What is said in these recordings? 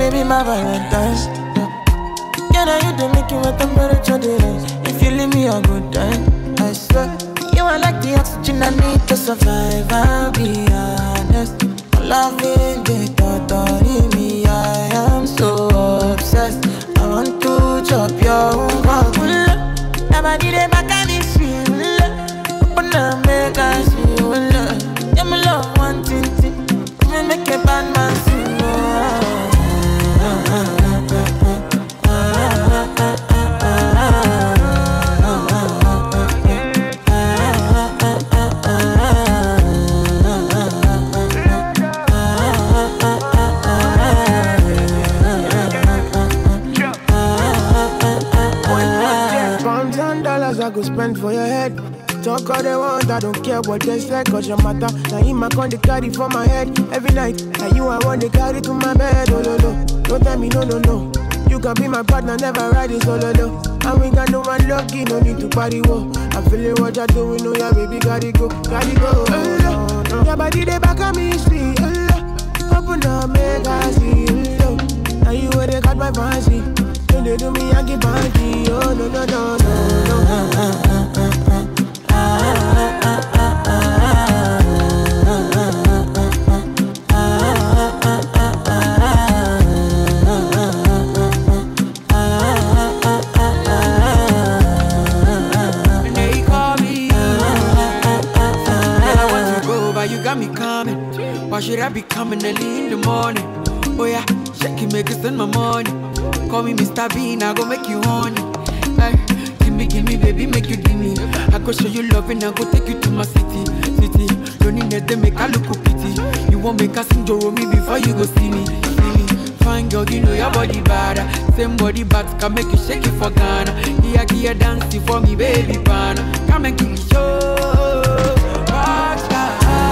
baby, my Valentine's. Can I you to make you my temperature rise? If you leave me a good time, I swear. You are like the oxygen I need to survive, I'll be honest. Loving the thought of me, I am so obsessed. I want to chop your own. Never did it back at this feel. Open up, make us feel. Yeah, my love, one thing. Me make a bad man sing. I go spend for your head. Talk all they want, I don't care what they say, cause your matter. Now in my con they carry for my head every night. Now you I want to carry to my bed, oh no no. Don't tell me no no no. You can be my partner, never riding solo though. And we got no one lucky, no need to party, whoa. I'm feeling what you're doing, no yeah baby, gotta go, no. Your body they back on me, sweet, open up, make I see, now you where they got my fancy. Don't they do me, I give party, oh no no no no. Why should I be coming early in the morning? Oh yeah, shake it, make it spend my money. Call me Mr. Bean, I go make you honey. Ay, give me, baby, make you give me. I go show you love and I go take you to my city. Don't need them, make I look pity. You won't make a sing Joro me before you go see me. Fine girl, you know your body bad. Same body bad can make you shake it for Ghana. Here, dancing for me, baby, pana. Come and give me show. Rockstar.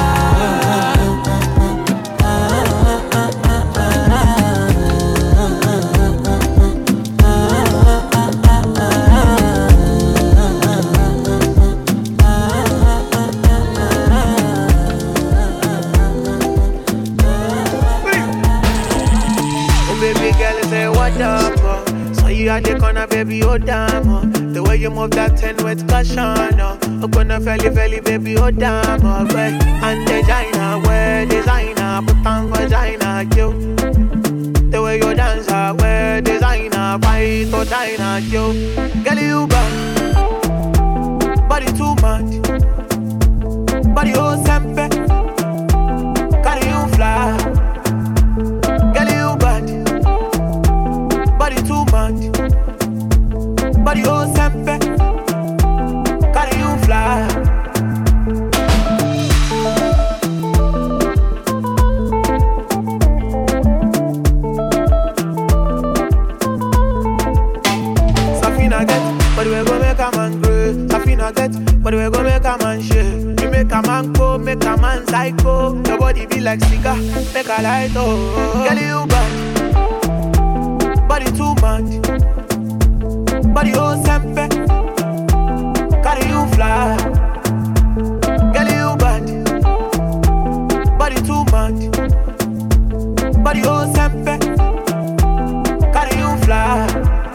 You at the corner, baby, oh damn, oh. The way you move that 10 with caution, oh. Open a belly, baby, oh damn, oh. And designer, wear designer, put on vagina, you. The way you dance, wear designer, fight or diner, you. Girl, you bad, body too much, body oh sempe, carry you fly. Girl, you bad, body too much. Body oh sempe, carry you fly. Safina get, but we gon' make a man grow. Safina get, but we gon' make a man shake. You make a man go, make a man psycho. Your body be like cigar, make a light oh. Girl you bad, body too much. Body oh sempe, carry you fly. Girl you bad, body too much. Body oh sempe, carry you fly.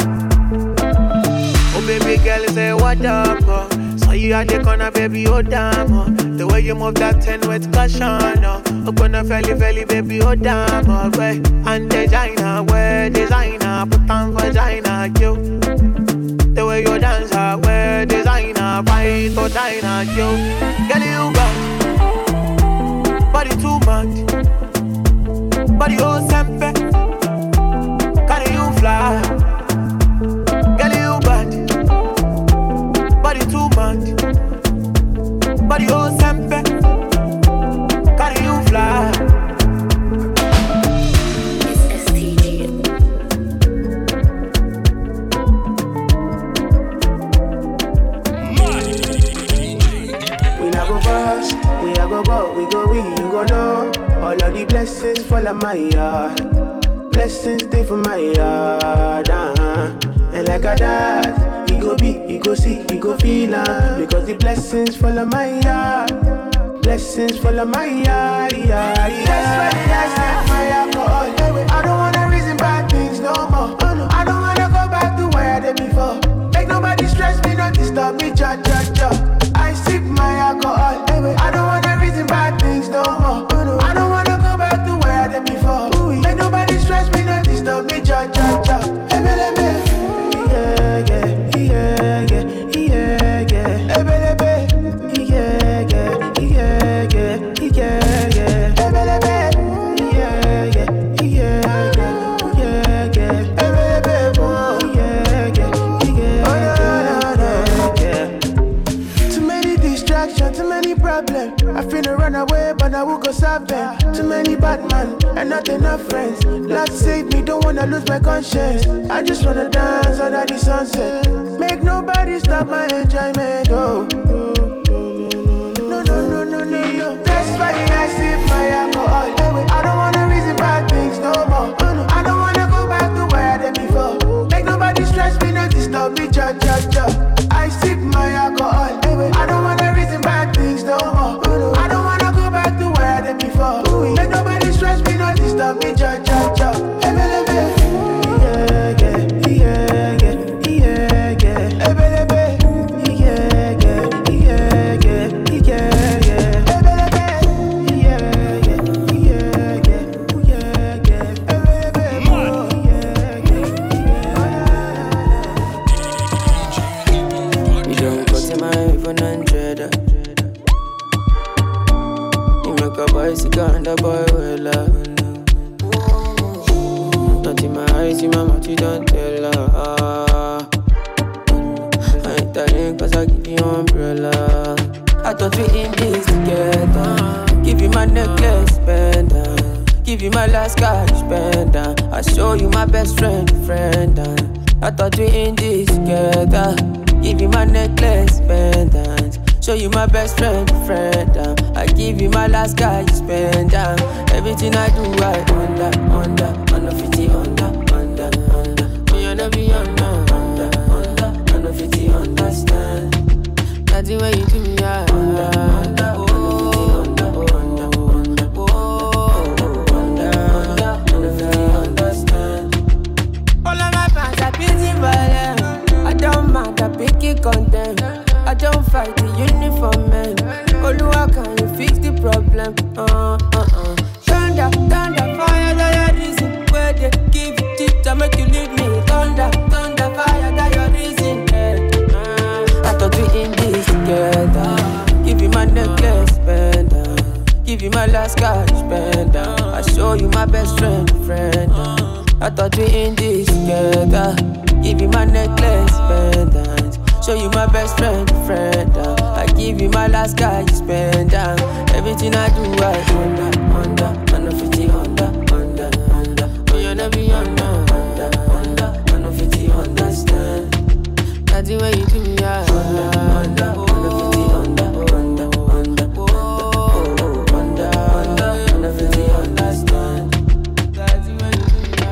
Oh baby girl say what up, oh. So you at the corner baby oh damn, oh. The way you move that 10 with caution, oh. Open a belly, baby oh damn, oh. And designer, wear designer, put on vagina, you. The way you dance, wear designer, fight or diner, yo. Girl, you bad, body too much. Body oh sempe, carry you fly. Girl, you bad, body too much. Body oh sempe, carry you fly. All of the blessings fall on my yard. Blessings stay for my yard. And like a dad, he go be, he go see, he go feel because the blessings fall on my yard. Blessings fall on my yard. That's why I stand my alcohol. I don't wanna reason by nobody stress me, not disturb me, cha cha cha. I sip my alcohol. I don't wanna reason bad things no more. I don't wanna go back to where I did before. Make nobody stress me, not disturb me, cha cha cha. I finna run away, but I will go solve them. Too many bad men and not enough friends. Lord save me, don't wanna lose my conscience. I just wanna dance under the sunset. Make nobody stop my enjoyment. Oh, no, no, no, no, no, no. That's why I sip my alcohol. I don't wanna reason bad things no more. I don't wanna go back to where I did before. Make nobody stress me, not disturb me, cha cha cha. I sip my alcohol. I don't wanna reason bad things no more. I don't wanna go back to where I did before. Make nobody stress me, not disturb me, cha cha cha. The boy will love. Not in my eyes, in my mouth, you don't tell her. I ain't telling cause I give you umbrella. I thought we in this together. Give you my necklace, pendant. Give you my last cash, pendant. I show you my best friend. I thought we in this together. Give you my necklace, pendant. Show you my best friend. I give you my last guy, you spend down. Everything I do, I under 50, under. Me under be under 50, understand. That's the way you do me, I under 50, understand. All of my fans are busy violent. I don't mind, I pick it content. I don't fight the uniform man. Oluwa, can you fix the problem? Thunder, fire, that your reason. Where they give it I make you leave me. Thunder, fire, that your reason. I thought we in this together. Give you my necklace, pendant. Give you my last cash, pendant. I show you my best friend. I thought we in this together. Give you my necklace, pendant. Show you my best friend. I give you my last guy, you spend down. Everything I do, I under 50, under. Oh, you never be under 50, understand. That's the way you do me, I under 50, under. Under 50, understand. That's the way you do me, I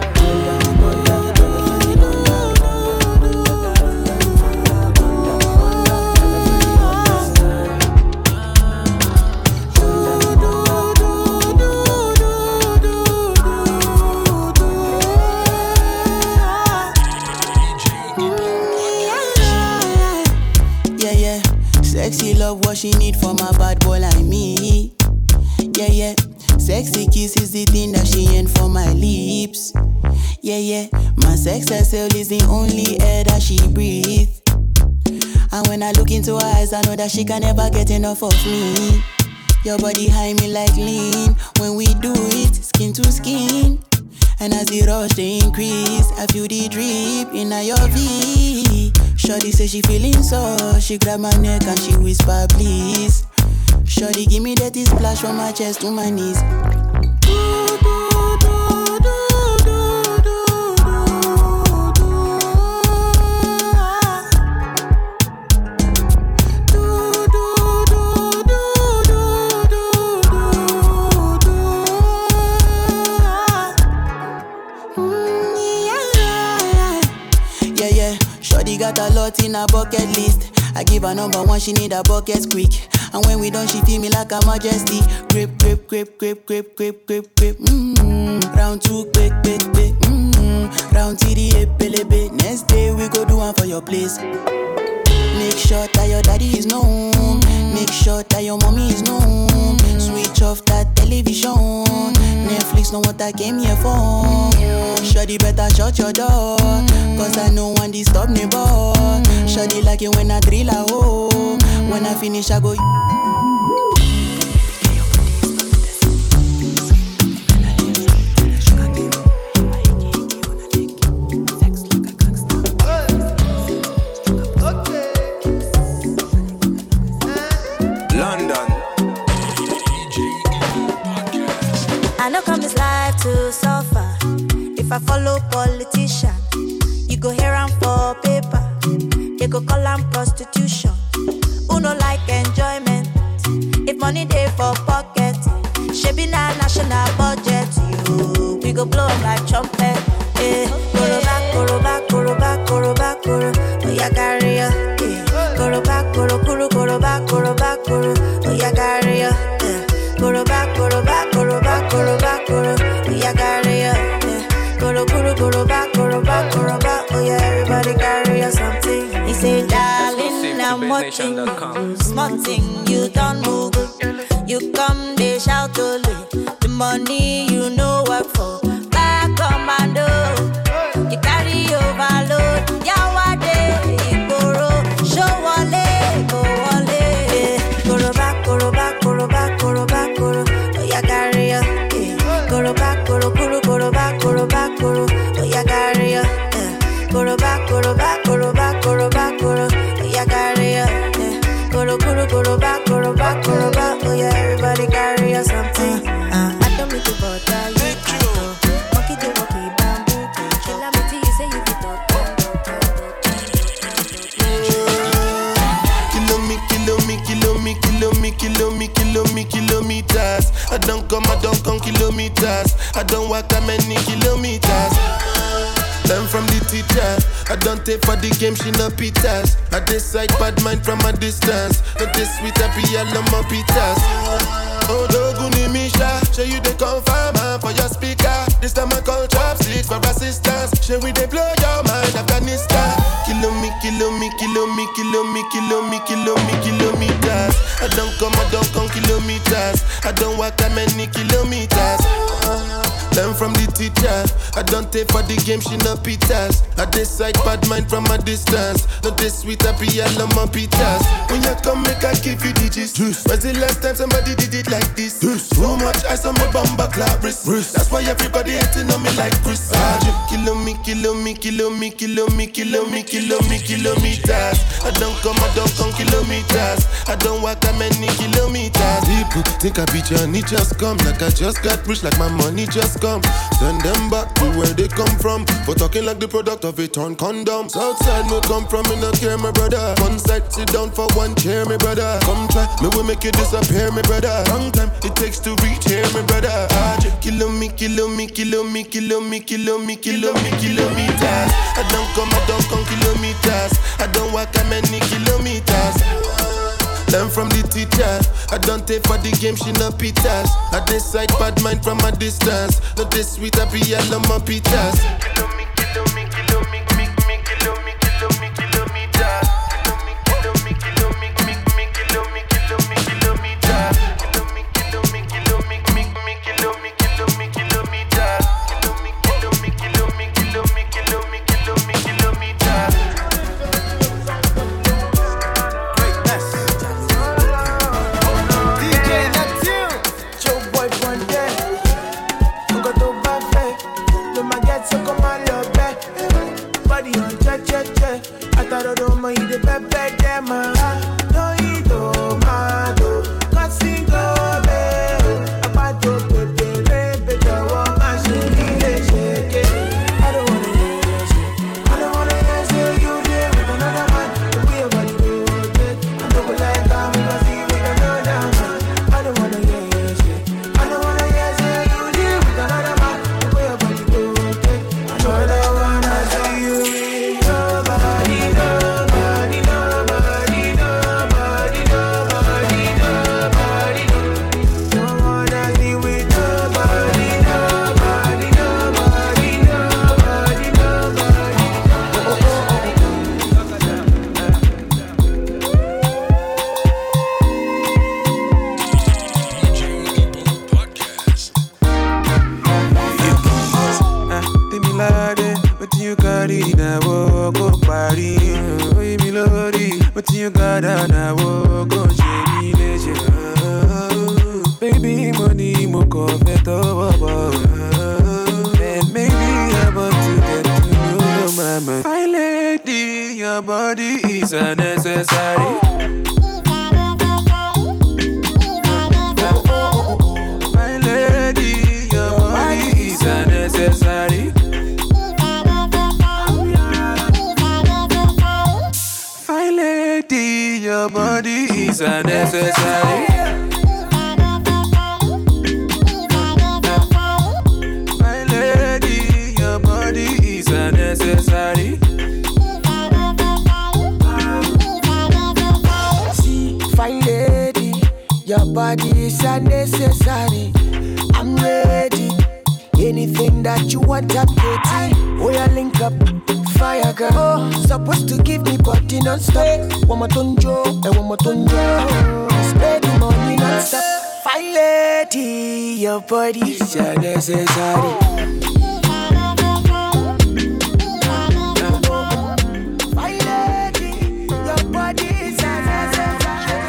Sexy love, what she need from a bad boy like me. Yeah. Sexy kiss is the thing that she ain't for my lips. Yeah. My sex herself is the only air that she breathes. And when I look into her eyes, I know that she can never get enough of me. Your body high me like lean. When we do it, skin to skin. And as the rush they increase, I feel the drip in your V. Shorty say she feeling so, she grab my neck and she whisper please. Shorty give me that splash from my chest to my knees. Got a lot in her bucket list. I give her number one, she need a bucket quick. And when we done, she feel me like a majesty. Grip. Round two, quick. Round TDA, pelebe. Next day we go do one for your place. Make sure that your daddy is known. Make sure that your mommy is known. Switch off that television. Netflix know what I came here for. Shawty better shut your door, cause I know one disturb me boy. Shawty like it when I drill a hole. When I finish I go. I know come this life to suffer. If I follow politician, you go hear am for paper. They go call am prostitution. Who no like enjoyment? If money dey for pocket, shebi na national budget. You, we go blow am like trumpet. Koroba, koroba, koroba, koroba, koro. Oh yeah, carry ya. Koroba, koro, koro, koroba, koroba, koro. Oh yeah, carry ya. Koroba, koroba, koroba, koroba, koro. Oh yeah, carry ya. Koro, koro, koroba, koroba, koroba. Oh yeah, everybody carry ya something. He say, darling, I'm watching you. Small thing, you don't move. You come, they shout only. The money you know work for. Back commando. You carry overload. Yawade, Igboro. Show wale, go wale. Koroba, koroba, koroba, koroba, koro. Oh yeah, carry ya. Koroba, koro, koro, koroba, koroba, koro. Oh yeah, carry ya. Koroba, koroba, koroba, koroba, koro. Oh yeah, carry ya. Koro, koro, koroba, koroba, koroba. Oh yeah, everybody carry ya something. I don't mean to bother you. Monkey do monkey bamboo. Kill me till you say you fit talk. Kilometers. I don't come kilometers. I don't walk that many kilometers. Learn from the teacher. I don't take for the game, she no pitas. I decide bad mind from a distance. Not this sweet, I be all on my pitas. Oh, Doguni Misha, show you the confirm for your speaker. This time I call chopsticks for assistance. Show we they blow your mind, Afghanistan. Kilometers. I don't come kilometers. I don't walk that many kilometers. Learn from the teacher. I don't take for the game, she no pitas. I decide bad mind from a distance. Not this sweet, I be all on my pitas. When you come, make I give you digits. When's the last time somebody did it like this? Too much ice on my bumper clap wrist. That's why everybody hating on me like Chris. Kilometers. I don't come kilometers. I don't walk that many kilometers. People think I be Johnny, just come. Like I just got rich, like my money just come. Send them back to where they come from. For talking like the product of a torn condom. Southside me come from, me no care, my brother. One side, sit down for one chair, my brother. Come try, me will make you disappear, my brother. Long time it takes to reach here, my brother. Kilometers. I don't come kilometers. I don't walk that many kilometers. Learn from the teacher. I don't take for the game, she no pitas. I decide bad mind from a distance. Not this sweet, I be all on my pitas. story. But you got on a walk on Jenny baby, money, mo coffee, and maybe I'm about to get to know your mama. My lady, your body is unnecessary. My lady, your body is unnecessary. My lady, your body is unnecessary. My lady, your body is unnecessary. See, fine lady, your body is unnecessary. I'm ready. Anything that you want, I'm ready. Oh, yeah, link up. Fire girl, oh, supposed to give me body non-stop. One more tonjo, and one more tonjo. Spend the money non-stop. Fine lady, your body is unnecessary. Fine lady, your body is unnecessary.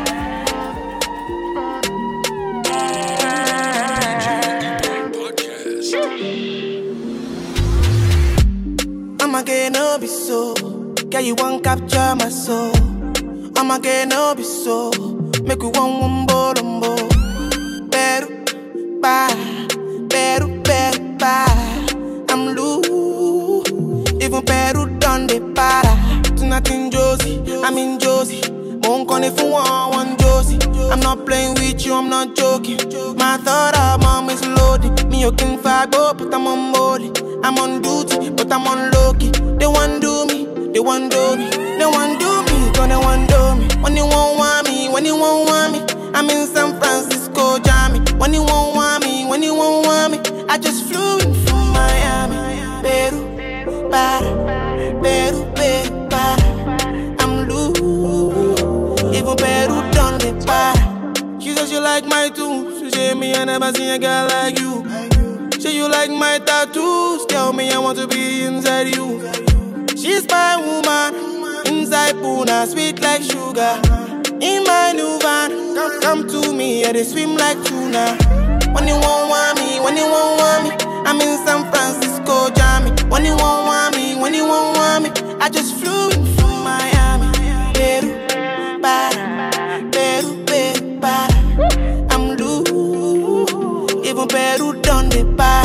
I'ma get no be so. Girl, you won't capture my soul. I'ma get no be so. Make you one wumbo lumbo. Better, bye. Better, bye. I'm loose. Even better done the para. Tonight in Josie, I'm in Josie. Won't call if you want Josie. I'm not playing with you, I'm not joking. My thought of mom is loaded. Me, you can fight, but I'm on molly. I'm on duty, but I'm on low-key. They want do me, they want do me. They want do me, gonna want do me. When you won't want me, when you won't want me. I'm in San Francisco, Jammy. When you won't want me, when you won't want me. I just flew in from Miami. Peru, para. Peru, para. I'm loose. Even Peru done the para. She says you like my tunes. She said me I never seen a girl like you. Say you like my tattoos. Tell me I want to be inside you. She's my woman. Inside Puna, sweet like sugar. In my new van, come to me, yeah, they swim like tuna. When you won't want me, when you won't want me. I'm in San Francisco, Jammy. When you won't want me, when you won't want me. I just flew in from Miami. Peru, para. Peru, para. I'm loose. Even Peru done the para.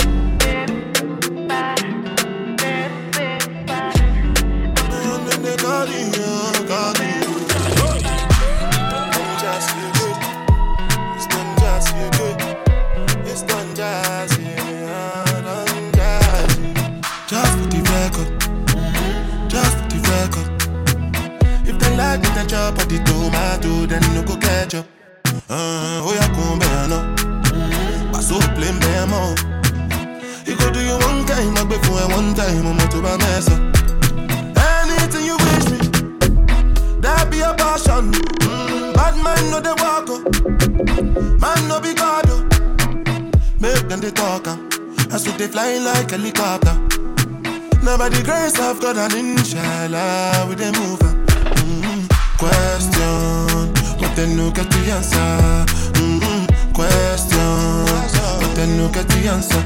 Chop of the tomato, then no go ketchup. Oh yeah, come no. But so plain bemo. You go do you one time, I before one time, I'm to my mess up. Anything you wish me, that be a passion. Bad man no they walk up, man no be God. Make them they talk, as if they fly like helicopter. Now by the grace of God and inshallah, we they move. Question, but then no get the answer. Question, but then no get the answer.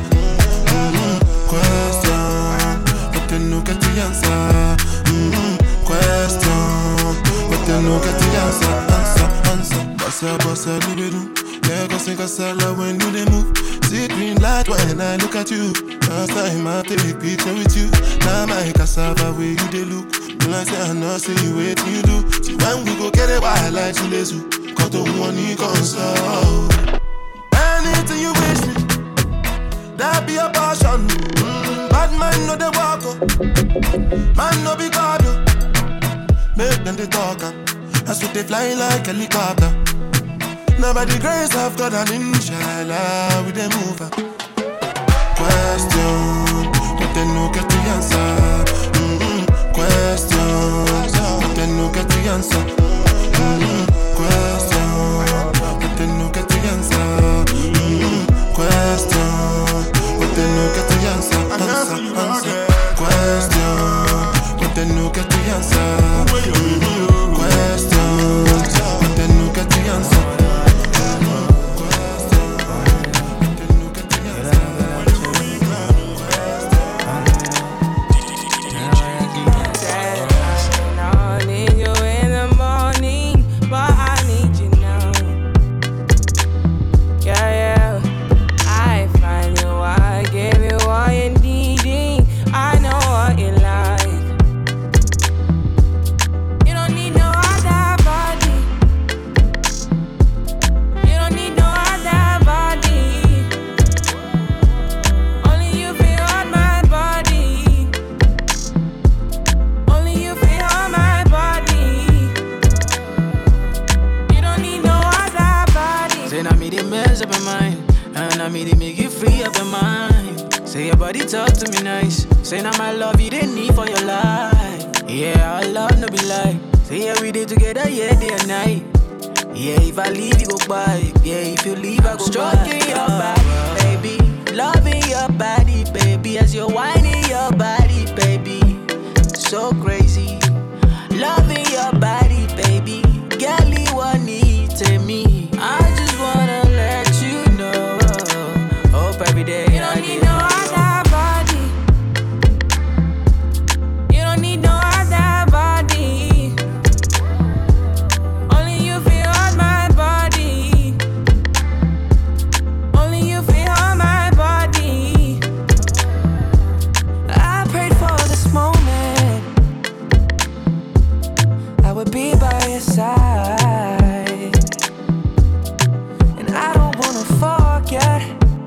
Question, but then no get the answer. Question, but then no get the answer. Answer. Bossa, do. Lagos and Casala when do they move? See green light when I look at you. Last time I take a picture with you. Now my cassava where you they look. I say I know, say you wait you do. See when we go get it, why I like to lazy. Cause the one you console. Anything you wish me, that be a passion. Bad man no they walk up, man no be God. Make them they talk, as if they fly like helicopter. Now by the grace of God and inshallah we they move. Question, but they no get the answer. Question, but then no get the answer. Question, but then no get the answer. Question, but then no get the answer. Answer. Question, but then no get the answer. me to make you free of your mind. Say your body talk to me nice. Say now my love you didn't need for your life. Yeah, our love no be like. Say yeah we did together, yeah, day and night. Yeah, if I leave you go by. Yeah, if you leave I go stroking by. Your body, baby. Loving your body, baby. As you're whining your body, baby. So crazy. Loving your body, baby. Girl, you want need to me. I just wanna let you know. Hope every day you don't need no other body. You don't need no other body. Only you feel on my body. Only you feel on my body. I prayed for this moment. I would be by your side. And I don't wanna forget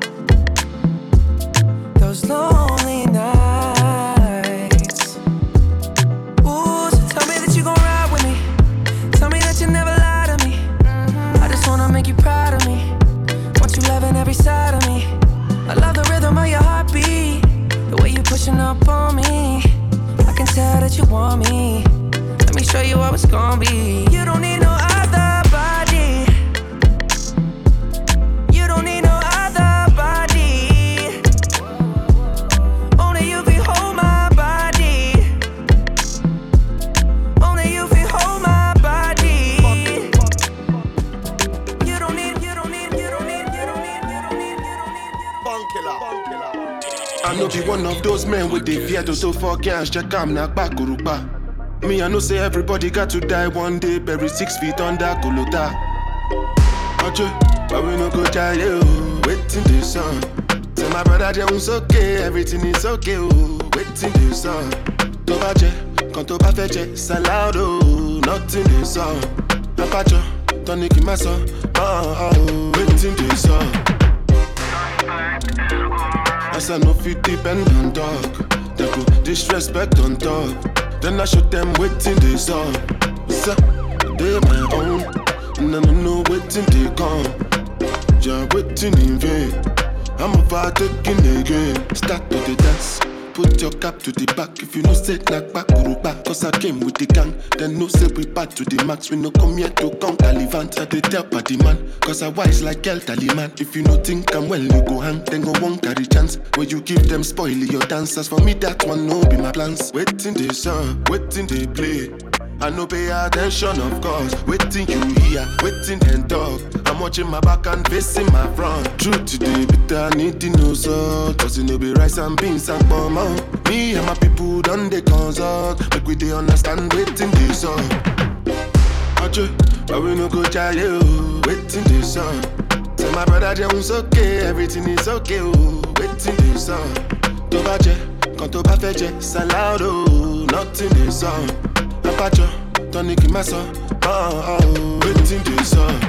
those lonely nights. Ooh, so tell me that you gon' ride with me. Tell me that you never lie to me. I just wanna make you proud of me. Want you loving every side of me. I love the rhythm of your heartbeat. The way you pushing up on me. I can tell that you want me. Let me show you how it's gon' be. You don't need no other body. You don't need no other body. Only you can hold my body. Only you can hold my body. You don't need, you don't need, you don't need, you don't need, you don't need, you don't need. I know be one of those men with the fear to so fuck can't check am na bakuruba. Me, I know say everybody got to die one day, buried 6 feet under Golota. Ache, but we no go die, oh, waiting the sun. Tell my brother Jones okay, everything is okay, oh, waiting the sun. Tobaje, quand toba feche, salado, nothing the sun. Apacho, tonic in my son, waiting the sun. As I know fit depend on dog, they go disrespect on top. Then I show them waiting they saw. So, they my own. And I don't know waiting they come. You're waiting in vain. I'm overtaking again. Start to the dance. Put your cap to the back. If you no say knock back, back. Cause I came with the gang. Then no say we back to the max. We no come here to count Talivant. I did tell party man. Cause I wise like El Taliman. If you no think I'm well, you go hang. Then go won't carry chance. Where you give them spoil your dancers. For me that one no be my plans. Waiting they song, waiting they play. I no pay attention of course. Waiting you hear, waiting and talk. I'm watching my back and facing my front. True today, but I need to know so. Cause it no be rice and beans and bomb. Me and my people done they consult. Make we they understand waiting this song. Ache, but we no go try you. Waiting this song. Tell my brother Jones okay, everything is okay. Oh, waiting this song. Tobaje, quand toba feche, salado, nothing this song. Apacho, tonic in my son, waiting this song.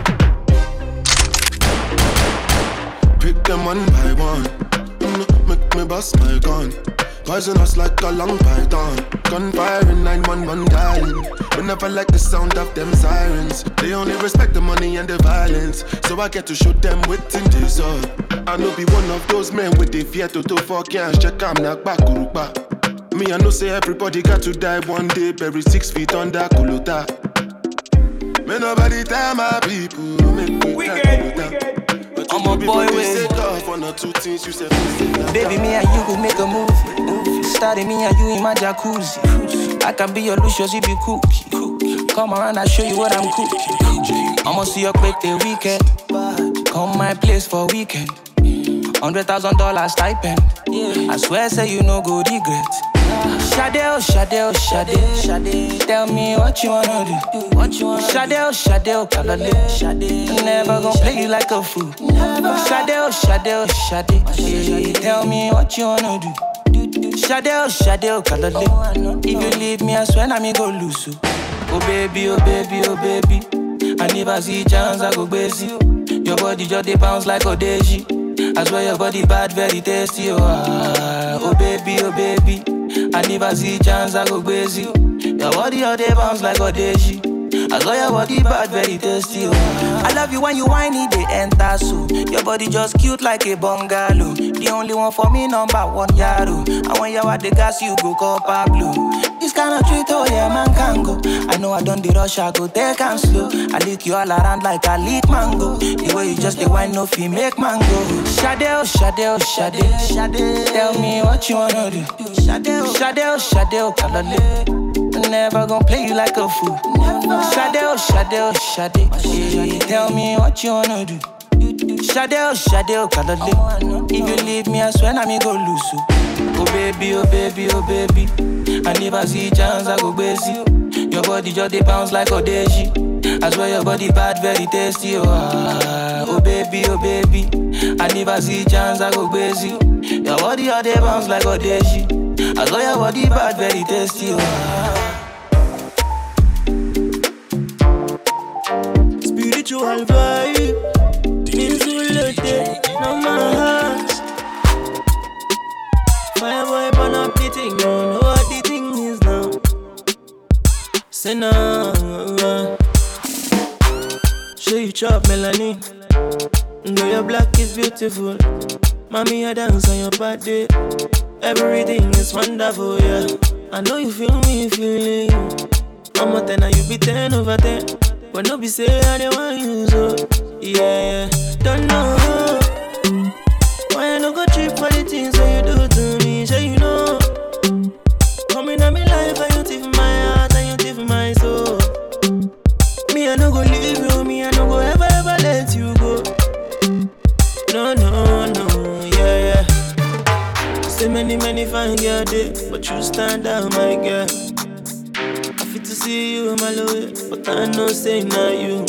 Pick them one by one, make me bust my gun. Poison us like a long python. Gunfire in 911 dialing. We never like the sound of them sirens. They only respect the money and the violence. So I get to shoot them waiting this up. I know be one of those men with the fear to fuck can't check I'm not back uruba. Me, I know say everybody got to die one day, buried 6 feet under Golota. May nobody tell my people, make me Golota. I'm a boy with baby, me and you could make a movie. Started me and you in my jacuzzi. I can be your Lucius, you be cookie. Come around, I'll show you what I'm cooking. I'ma see your quick the weekend. Come my place for weekend. $100,000 stipend. I swear, say you no go regret. Shade, oh Shade, oh Shade. Tell me what you wanna do. Shade, oh Shade, oh Kalale. Never gon' play you like a fool. Shade, oh Shade, oh Shade. Tell me what you wanna do. Shade, oh Shade, oh Kalale. If you leave me, I swear I me go lose you. Oh baby, oh baby, oh baby. I never see chance, I go crazy. Your body just dey bounce like Odeji. I swear your body bad, very tasty. Oh baby, oh baby. I never see chance, I go crazy. Your body all day bounce like Odeji. I saw your body bad, very tasty. Oh. I love you when you whiny, they enter so. Your body just cute like a bungalow. The only one for me, number one yaro. And when you at the gas, you go call Pablo. This kind of treat, oh yeah, man can go. I know I done the rush, I go take and slow. I lick you all around like I lick mango. The way you just the wine, no fee make mango. Shade, oh, shade, oh, shade, shade. Tell me what you wanna do. Shade, oh, shade, oh, shade, oh, kalale. Never gonna play you like a fool. Shade, oh, shade, oh, shade. Tell me what you wanna do. Shade, oh, kalale. If you leave me, I swear I me go lose you. Oh baby, oh baby, oh baby. I never see chance, I go crazy. Your body just they bounce like Odeji. I swear your body bad, very tasty. Oh baby, oh baby. I never see chance, I go crazy. Your body just they bounce like Odeji. I swear your body bad, very tasty. Spiritual vibe. Things will look there, no my hands. Fireboy burn up the thing, you know what the thing is now. Say no. Show you chop melanin. Though your black is beautiful. Mommy, I dance on your body. Everything is wonderful, yeah. I know you feel me, feeling you. I'm a 10 and you be 10 over 10. But no be say I don't want you, so yeah. Don't know why I no go trip for the things that you do to me, sure you know. Coming at me life and you thief my heart and you thief my soul. Me I no go leave you, me I no go ever let you go. No, yeah. So many fine girl day, but you stand out, my girl. I fit to see you, my love, but I know say not you.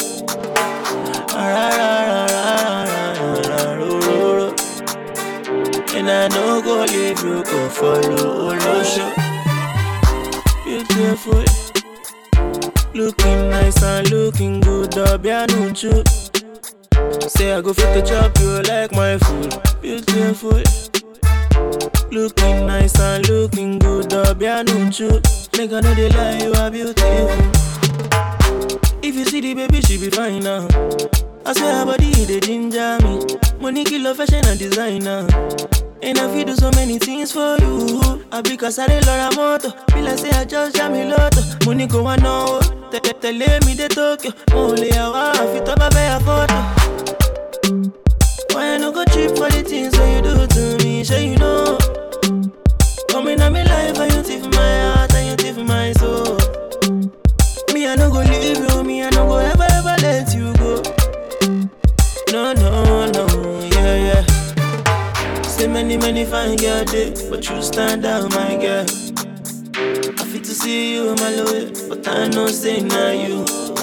And I know go leave you, go follow Olosho. Beautiful, looking nice and looking good, Obianuchu. Say I go fit to chop you like my food. Beautiful, looking nice and looking good, Obianuchu. Make I know they lie, you are beautiful. If you see the baby, she be fine now. I swear her body, they ginger me. Money, kilo, fashion and designer. And I feel do so many things for you. I be cause I did Laura Moto. Feel like say I just jam me lotto. Money go on now. Tell me the Tokyo. Only a wife, fit up a bear photo. Why I no go trip for the things that you do to me? Sure you know. Coming at me life and you thief my heart and you thief my soul. Me I no go leave you, me I no go ever let you go. No, yeah. Say many fine girl day, but you stand out, my girl. I fit to see you, my love, but I know say not you.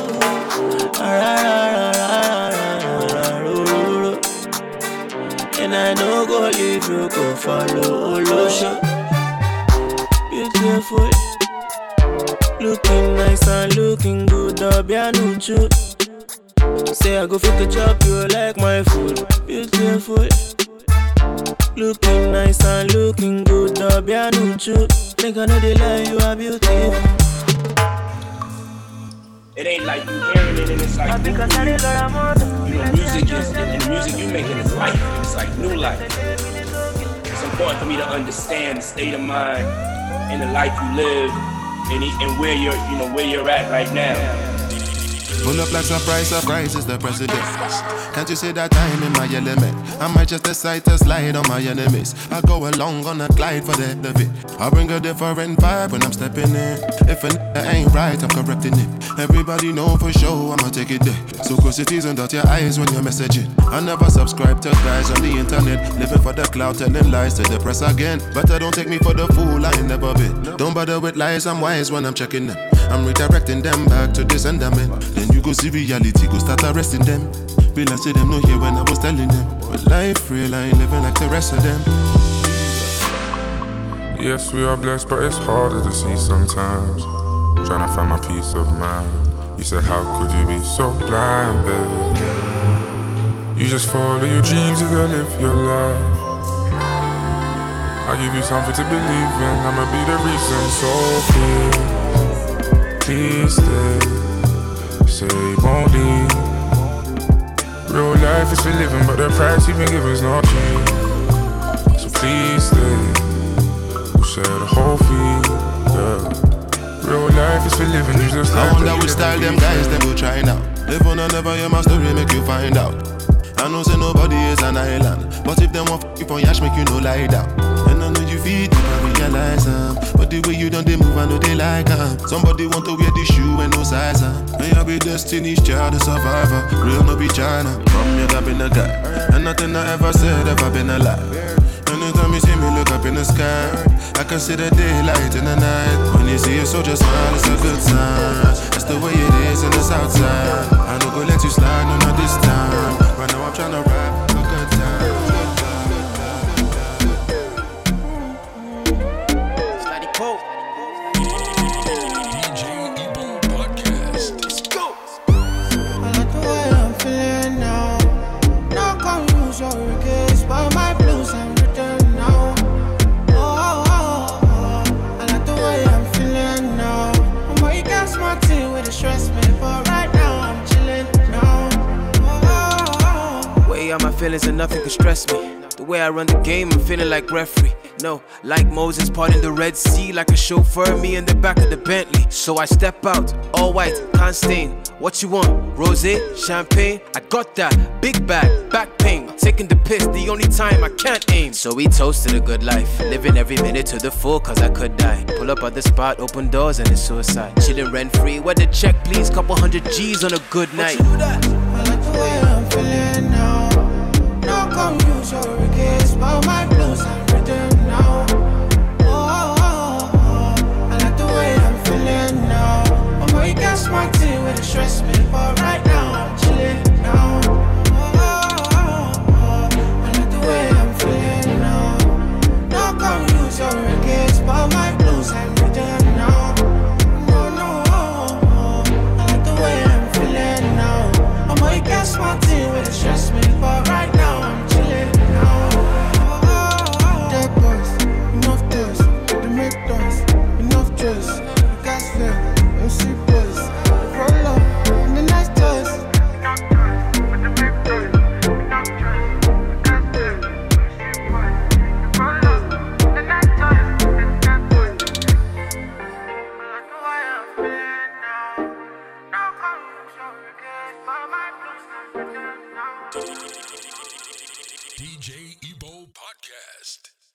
And I know go leave you, go follow Olosho. Beautiful, looking nice and looking good, Obianuchu. Say I go fit to chop you like my food. Beautiful, looking nice and looking good, Obianuchu. Make I know they lie, you are beautiful. It ain't like you hearing it and it's like new music. You know, music is, and the music you making is life. It's like new life. It's important for me to understand the state of mind and the life you live and where you're, you know, where you're at right now. Pull up like surprise is the president. Can't you see that I'm in my element? I might just decide to slide on my enemies. I go along on a glide for the end of it. I bring a different vibe when I'm stepping in. If a ain't right, I'm correcting it. Everybody know for sure I'ma take it there. So close your teeth and dot your eyes when you're messaging. I never subscribe to guys on the internet, living for the cloud, telling lies to the press again. But I don't take me for the fool, I ain't never been. Don't bother with lies, I'm wise when I'm checking them. I'm redirecting them back to the sentiment. Then you go see reality, go start arresting them. Feel I see them no here when I was telling them. But life real, I ain't living like the rest of them. Yes, we are blessed, but it's harder to see sometimes. Trying to find my peace of mind. You said, how could you be so blind, baby? You just follow your dreams, you gotta live your life. I give you something to believe in, I'ma be the reason. So please stay. say you won't leave. Real life is for living, but the price you've been given is not cheap. So please stay. We'll share the whole fee, yeah. Real life is for living, you just I wonder which style them guys them will try now. If one never hear my story, make you find out. I know say nobody is an island, but if them want f*** you for yash, make you no lie down. And I know you feel deep, I realize but the way you done they move, I know they like somebody want to wear the shoe and no size and you'll be Destiny's Child, a survivor. Real no be China. From you got been a guy, and nothing I ever said ever been a lie. Anytime you see me look up in the sky, I can see the daylight in the night. When you see a soldier smile, it's a good sign. That's the way it is in the south side. I don't go let you slide, no, not this time. Right now I'm tryna rap a good time. Slidey Pope. DJ Ebo Podcast. Let's go. I like the way I'm feeling now. Not gonna use your regrets, but my blues I'm written now. I like the way I'm feeling now. I'm way got my team with the stress me, but right now I'm chilling now. Way out my feelings and nothing can stress me. The way I run the game, I'm feeling like referee. No, like Moses parting the Red Sea, like a chauffeur, me in the back of the Bentley. So I step out, all white, can't stain. What you want? Rosé, champagne? I got that. Big bag, back pain. Taking the piss, the only time I can't aim. So we toasted a good life, living every minute to the full, cause I could die. Pull up at the spot, open doors, and it's suicide. Chilling rent free, where the check please? Couple $100 G's on a good night. I like the way I'm feeling now. No come use your regrets, but my blues I'm written now. I like the way I'm feeling now. I'm way got my team with the stress me, but right now I'm chilling now. I like the way I'm feeling now. No come use your regrets, but my blues I'm written now. I like the way I'm feeling now. I'm way got my team with the stress me, but right now I'm chilling now. Dead boys, enough toys, they make toys, enough dress, gas fair, MC boys, they roll up in the nice toys. DJ Ebo Podcast.